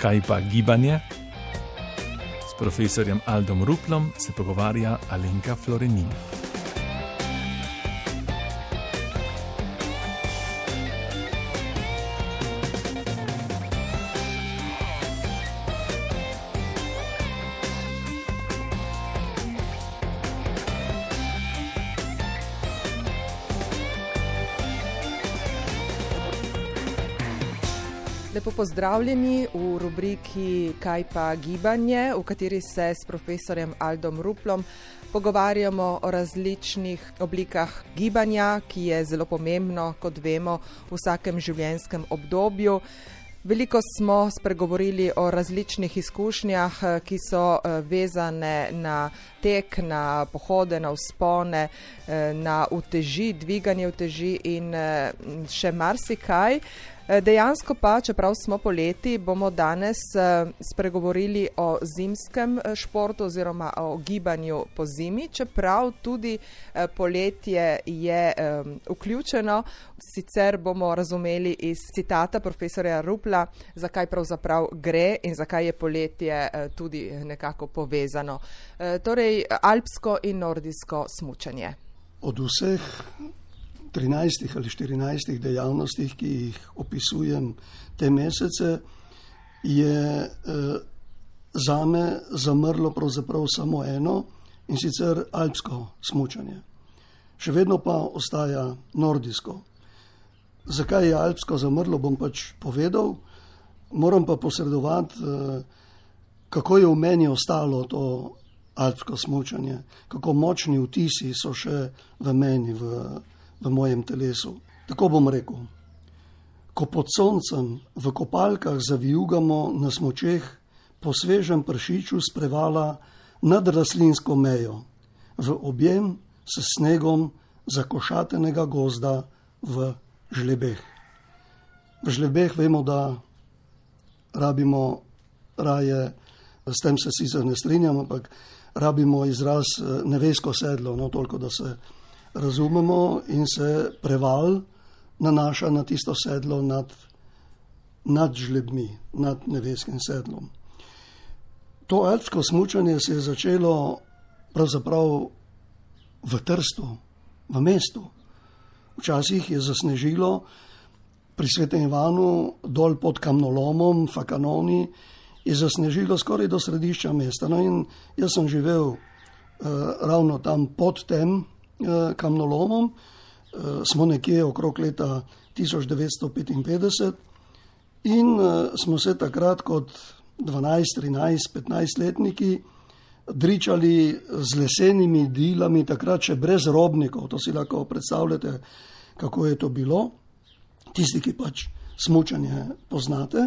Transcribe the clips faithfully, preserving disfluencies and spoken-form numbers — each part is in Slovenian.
Kaj pa gibanje? S profesorjem Aldom Ruplom se pogovarja Alenka Florenin. Lepo pozdravljeni v rubriki Kaj pa gibanje, v kateri se s profesorjem Aldom Ruplom pogovarjamo o različnih oblikah gibanja, ki je zelo pomembno, kot vemo, v vsakem življenjskem obdobju. Veliko smo spregovorili o različnih izkušnjah, ki so vezane na tek, na pohode, na vzpone, na uteži, dviganje uteži in še marsikaj. Dejansko pa, čeprav smo poleti, bomo danes spregovorili o zimskem športu oziroma o gibanju po zimi, čeprav tudi poletje je vključeno. Sicer bomo razumeli iz citata profesorja Rupla, zakaj pravzaprav gre in zakaj je poletje tudi nekako povezano. Torej, alpsko in nordijsko smučanje. Od vseh trinajstih ali štirinajstih dejavnostih, ki jih opisujem te mesece, je eh, zame zamrlo pravzaprav samo eno, in sicer alpsko smučanje. Še vedno pa ostaja nordijsko. Zakaj je alpsko zamrlo, bom pač povedal, moram pa posredovati, eh, kako je v meni ostalo to alpsko smučanje, kako močni vtisi so še v meni, v v mojem telesu. Tako bom rekel, ko pod soncem v kopalkah zavijugamo na smučeh po svežem pršiču s prevala nad rastlinsko mejo, v objem s snegom zakošatenega gozda v žlebeh. V žlebeh vemo, da rabimo raje, s tem se sicer ne strinjam, ampak rabimo izraz nevesko sedlo, no toliko, da se razumemo, in se preval nanaša na tisto sedlo nad, nad žlebmi, nad neveskim sedlom. To alpsko smučanje se je začelo pravzaprav v Trstu, v mestu. Včasih je zasnežilo pri Svetem Ivanu dol pod kamnolomom, Fakanoni, je zasnežilo skoraj do središča mesta. No in jaz sem živel uh, ravno tam pod tem kamnolomom, smo nekje okrog leta tisoč devetsto petinpetdeset in smo se takrat kot dvanajst, trinajst, petnajst letniki dričali z lesenimi dilami, takrat še brez robnikov. To si lahko predstavljate, kako je to bilo, tisti, ki pač smučanje poznate.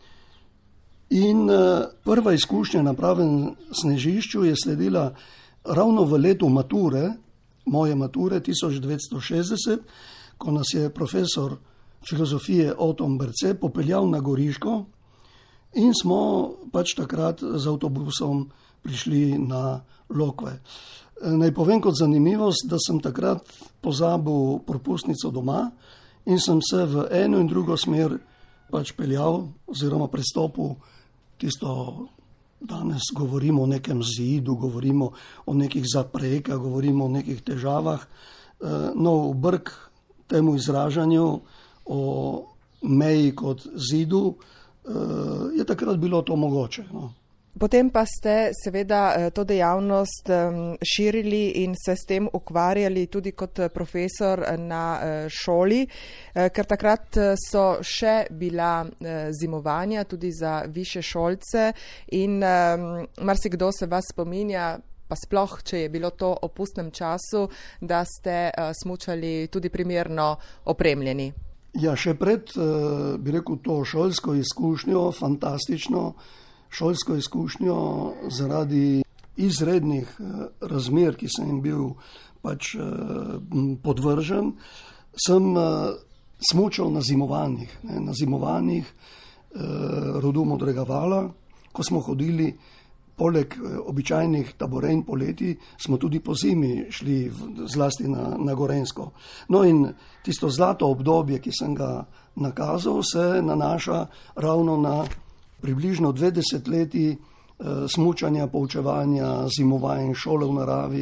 In prva izkušnja na pravem snežišču je sledila ravno v letu mature, moje mature tisoč devetsto šestdeset, ko nas je profesor filozofije Oton Berce popeljal na Goriško in smo pač takrat z avtobusom prišli na Lokve. Naj povem kot zanimivost, da sem takrat pozabil propustnico doma in sem se v eno in drugo smer pač peljal oziroma prestopil tisto. Danes govorimo o nekem zidu, govorimo o nekih zaprekah, govorimo o nekih težavah. No, v brk temu izražanju o meji kot zidu je takrat bilo to mogoče. No. Potem pa ste seveda to dejavnost širili in se s tem ukvarjali tudi kot profesor na šoli, ker takrat so še bila zimovanja tudi za višje šolce in marsikdo se vas spominja, pa sploh, če je bilo to o pustnem času, da ste smučali tudi primerno opremljeni. Ja, še pred, bi rekel, to šolsko izkušnjo, fantastično šolsko izkušnjo zaradi izrednih razmer, ki sem jim bil pač podvržen, sem smučal na zimovanjih, ne, na zimovanjih rodu Modrega vala, ko smo hodili poleg običajnih taborenj poleti, smo tudi po zimi šli zlasti na, na Gorenjsko. No in tisto zlato obdobje, ki sem ga nakazal, se nanaša ravno na približno dve desetletji smučanja, poučevanja, zimovanja, šole v naravi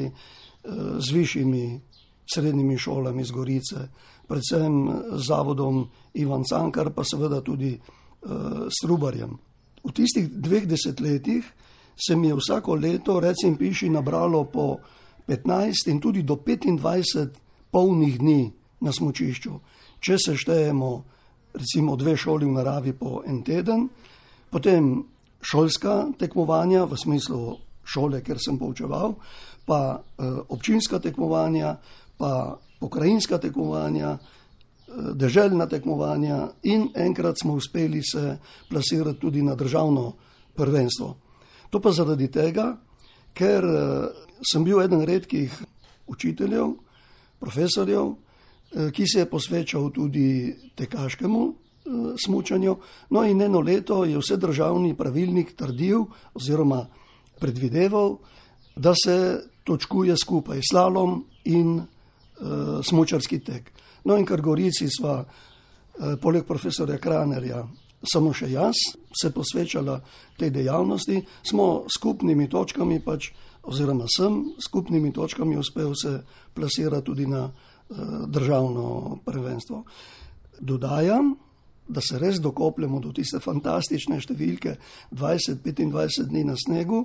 z višjimi srednjimi šolami z Gorice, predvsem zavodom Ivan Cankar, pa seveda tudi s Trubarjem. V tistih dveh desetletjih se mi je vsako leto, recim piši, nabralo po petnajst in tudi do petindvajset polnih dni na smučišču. Če se štejemo recimo dve šoli v naravi po en teden, potem šolska tekmovanja v smislu šole, kjer sem poučeval, pa eh, občinska tekmovanja, pa pokrajinska tekmovanja, eh, deželna tekmovanja in enkrat smo uspeli se plasirati tudi na državno prvenstvo. To pa zaradi tega, ker eh, sem bil eden redkih učiteljev, profesorjev, eh, ki se je posvečal tudi tekaškemu smučanju. No in eno leto je vse državni pravilnik trdil oziroma predvideval, da se točkuje skupaj slalom in uh, smučarski tek. No in ker Gorici sva uh, poleg profesorja Kranerja samo še jaz se posvečala tej dejavnosti, smo skupnimi točkami pač, oziroma sem skupnimi točkami uspel se plasirati tudi na uh, državno prvenstvo. Dodajam, da se res dokopljamo do tiste fantastične številke dvajset do petindvajset dni na snegu,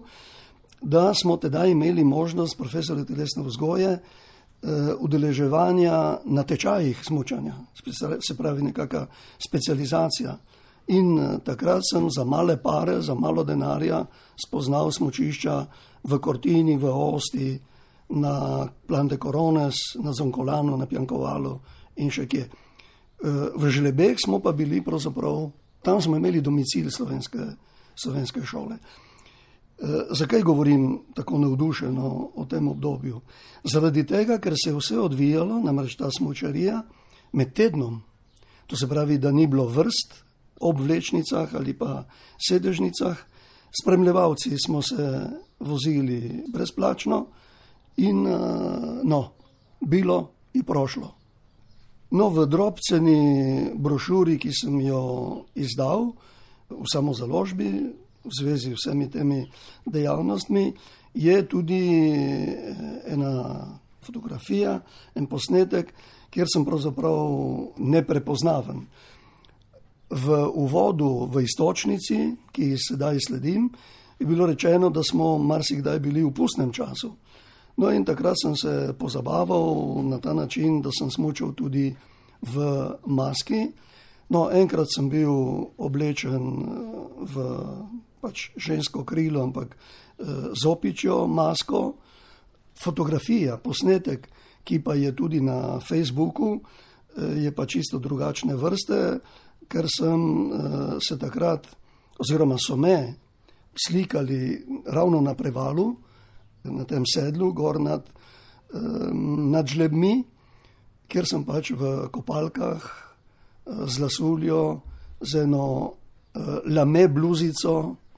da smo tedaj imeli možnost profesorja telesne vzgoje eh, udeleževanja na tečajih smučanja, se pravi nekaka specializacija. In eh, takrat sem za male pare, za malo denarja spoznal smučišča v Cortini, v Osti, na Plan de Corones, na Zonkolanu, na Piankovalu in še kje. V Žlebeh smo pa bili pravzaprav, tam smo imeli domicil slovenske, slovenske šole. Zakaj govorim tako navdušeno o tem obdobju? Zaradi tega, ker se je vse odvijalo, namreč ta smučarija, med tednom. To se pravi, da ni bilo vrst ob vlečnicah ali pa sedežnicah. Spremljevalci smo se vozili brezplačno in no, bilo in prošlo. No, v drobceni brošuri, ki sem jo izdal v samozaložbi v zvezi z vsemi temi dejavnostmi, je tudi ena fotografija, en posnetek, kjer sem pravzaprav neprepoznaven. V uvodu v istočnici, ki sedaj sledim, je bilo rečeno, da smo marsikdaj bili v pustnem času. No in takrat sem se pozabaval na ta način, da sem smučal tudi v maski. No, enkrat sem bil oblečen v pač žensko krilo, ampak z opičjo masko. Fotografija, posnetek, ki pa je tudi na Facebooku, je pa čisto drugačne vrste, ker sem se takrat, oziroma so me slikali ravno na prevalu, na tem sedlu, gor nad, nad žlebmi, kjer sem pač v kopalkah z lasuljo, z eno lame bluzico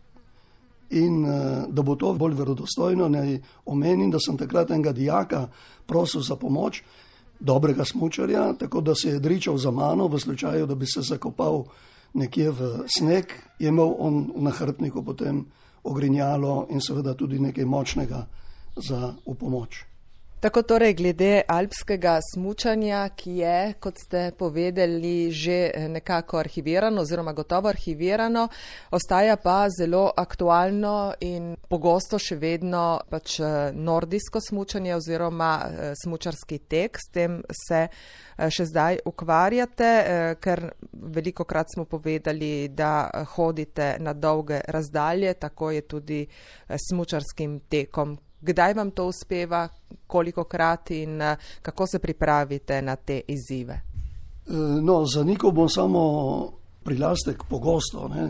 in da bo to bolj verodostojno, naj omenim, da sem takrat enega dijaka prosil za pomoč, dobrega smučarja, tako da se je dričal za mano v slučaju, da bi se zakopal nekje v sneg, je imel on v nahrbtniku potem ogrinjalo in seveda tudi nekaj močnega za v pomoč. Tako torej glede alpskega smučanja, ki je, kot ste povedali, že nekako arhivirano oziroma gotovo arhivirano, ostaja pa zelo aktualno in pogosto še vedno pač nordijsko smučanje oziroma smučarski tek. S tem se še zdaj ukvarjate, ker velikokrat smo povedali, da hodite na dolge razdalje, tako je tudi smučarskim tekom. Kdaj vam to uspeva, kolikokrat in kako se pripravite na te izzive? No, zanikal bom samo prilastek pogosto. Ne.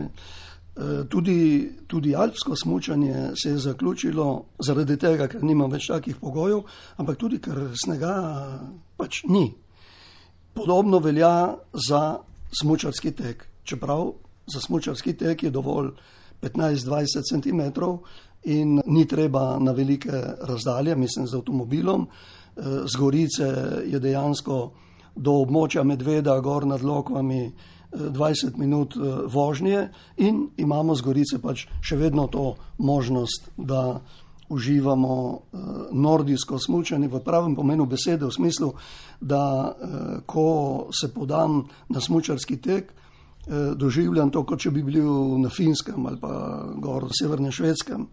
Tudi, tudi alpsko smučanje se je zaključilo zaradi tega, ker nimam več takih pogojev, ampak tudi, ker snega pač ni. Podobno velja za smučarski tek. Čeprav za smučarski tek je dovolj petnajst do dvajset centimetrov, in ni treba na velike razdalje, mislim z avtomobilom. Z Gorice je dejansko do območja Medveda, gor nad Lokvami, dvajset minut vožnje in imamo z Gorice pač še vedno to možnost, da uživamo nordijsko smučanje v pravem pomenu besede, v smislu, da ko se podam na smučarski tek, doživljam to, kot če bi bil na Finskem ali pa gor v severnem Švedskem.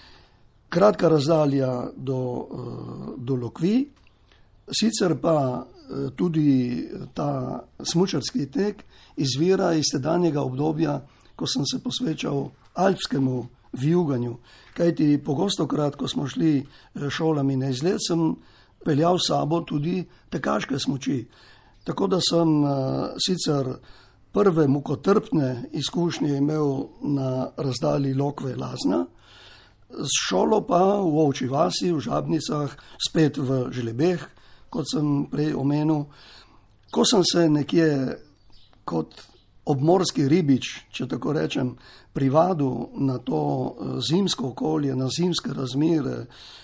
Kratka razdalja do, do Lokvi, sicer pa tudi ta smučarski tek izvira iz tedanjega obdobja, ko sem se posvečal alpskemu vijuganju. Kajti pogostokrat, ko smo šli šolami na izlet, sem peljal s sabo tudi tekaške smuči. Tako da sem sicer prve mukotrpne izkušnje imel na razdalji Lokve-Lazna, s šolo pa v Ovčji vasi, v Žabnicah, spet v Želebeh, kot sem prej omenil. Ko sem se nekje kot obmorski ribič, če tako rečem, privadil na to zimsko okolje, na zimske razmere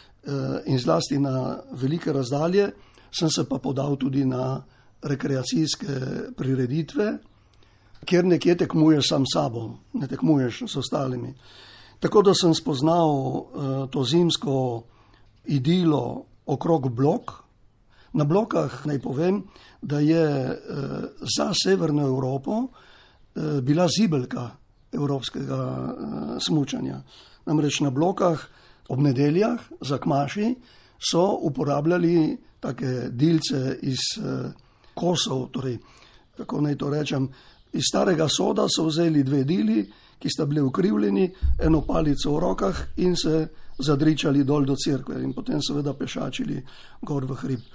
in zlasti na velike razdalje, sem se pa podal tudi na rekreacijske prireditve, kjer nekje tekmuješ sam sabo, ne tekmuješ s ostalimi. Tako da sem spoznal uh, to zimsko idilo okrog Blok. Na Blokah naj povem, da je uh, za severno Evropo uh, bila zibelka evropskega uh, smučanja. Namreč na Blokah ob nedeljah za kmaši so uporabljali take dilce iz uh, kosov, torej, kako naj to rečem, iz starega soda so vzeli dve dili, ki sta bili ukrivljeni, eno palico v rokah in se zadričali dol do cerkve in potem seveda pešačili gor v hrib.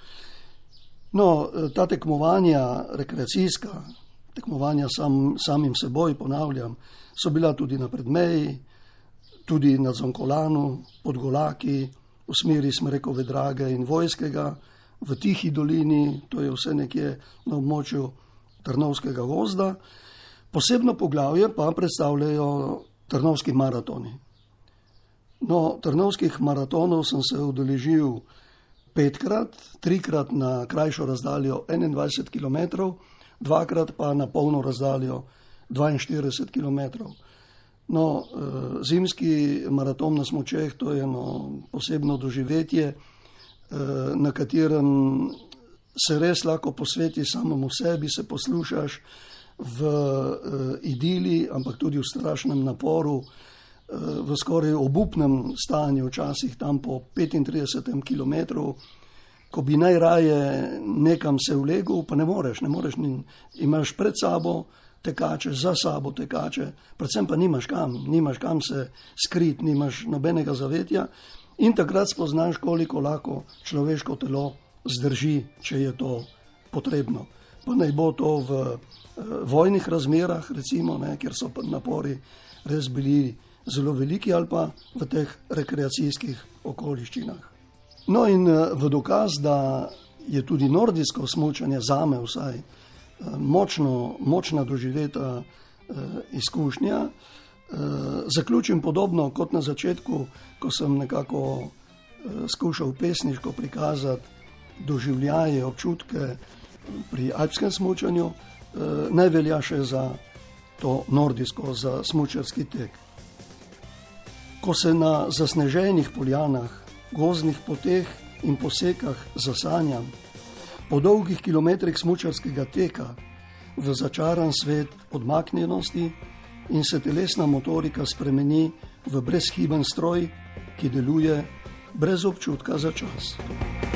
No, ta tekmovanja rekreacijska, tekmovanja sam, samim seboj, ponavljam, so bila tudi na Predmeji, tudi na Zonkolanu, pod Golaki, v smeri Smrekove Drage in Vojskega, v Tihi dolini, to je vse nekje na območju Trnovskega gozda. Posebno poglavje pa predstavljajo trnovski maratoni. No, trnovskih maratonov sem se udeležil petkrat, trikrat na krajšo razdaljo enaindvajset kilometrov, dvakrat pa na polno razdaljo dvainštirideset kilometrov. No, zimski maraton na smučeh, to je eno posebno doživetje, na katerem se res lahko posveti samemu sebi, se poslušaš v idili, ampak tudi v strašnem naporu, v skoraj obupnem stanju, včasih tam po petintridesetem kilometru, ko bi najraje nekam se vlegel, pa ne moreš, ne moreš, imaš pred sabo tekače, za sabo tekače, predvsem pa nimaš kam, nimaš kam se skrit, nimaš nobenega zavetja in takrat spoznaš, koliko lahko človeško telo zdrži, če je to potrebno. Pa naj bo to v vojnih razmerah, recimo, ne, kjer so napori res bili zelo veliki, ali pa v teh rekreacijskih okoliščinah. No in v dokaz, da je tudi nordijsko smučanje zame vsaj močno, močna doživeta izkušnja, zaključim podobno kot na začetku, ko sem nekako skušal pesniško prikazati doživljaje, občutke pri alpskem smučanju, naj velja še za to nordijsko, za smučarski tek. Ko se na zasneženih poljanah, gozdnih poteh in posekah zasanjam, po dolgih kilometrih smučarskega teka v začaran svet odmaknjenosti in se telesna motorika spremeni v brezhiben stroj, ki deluje brez občutka za čas.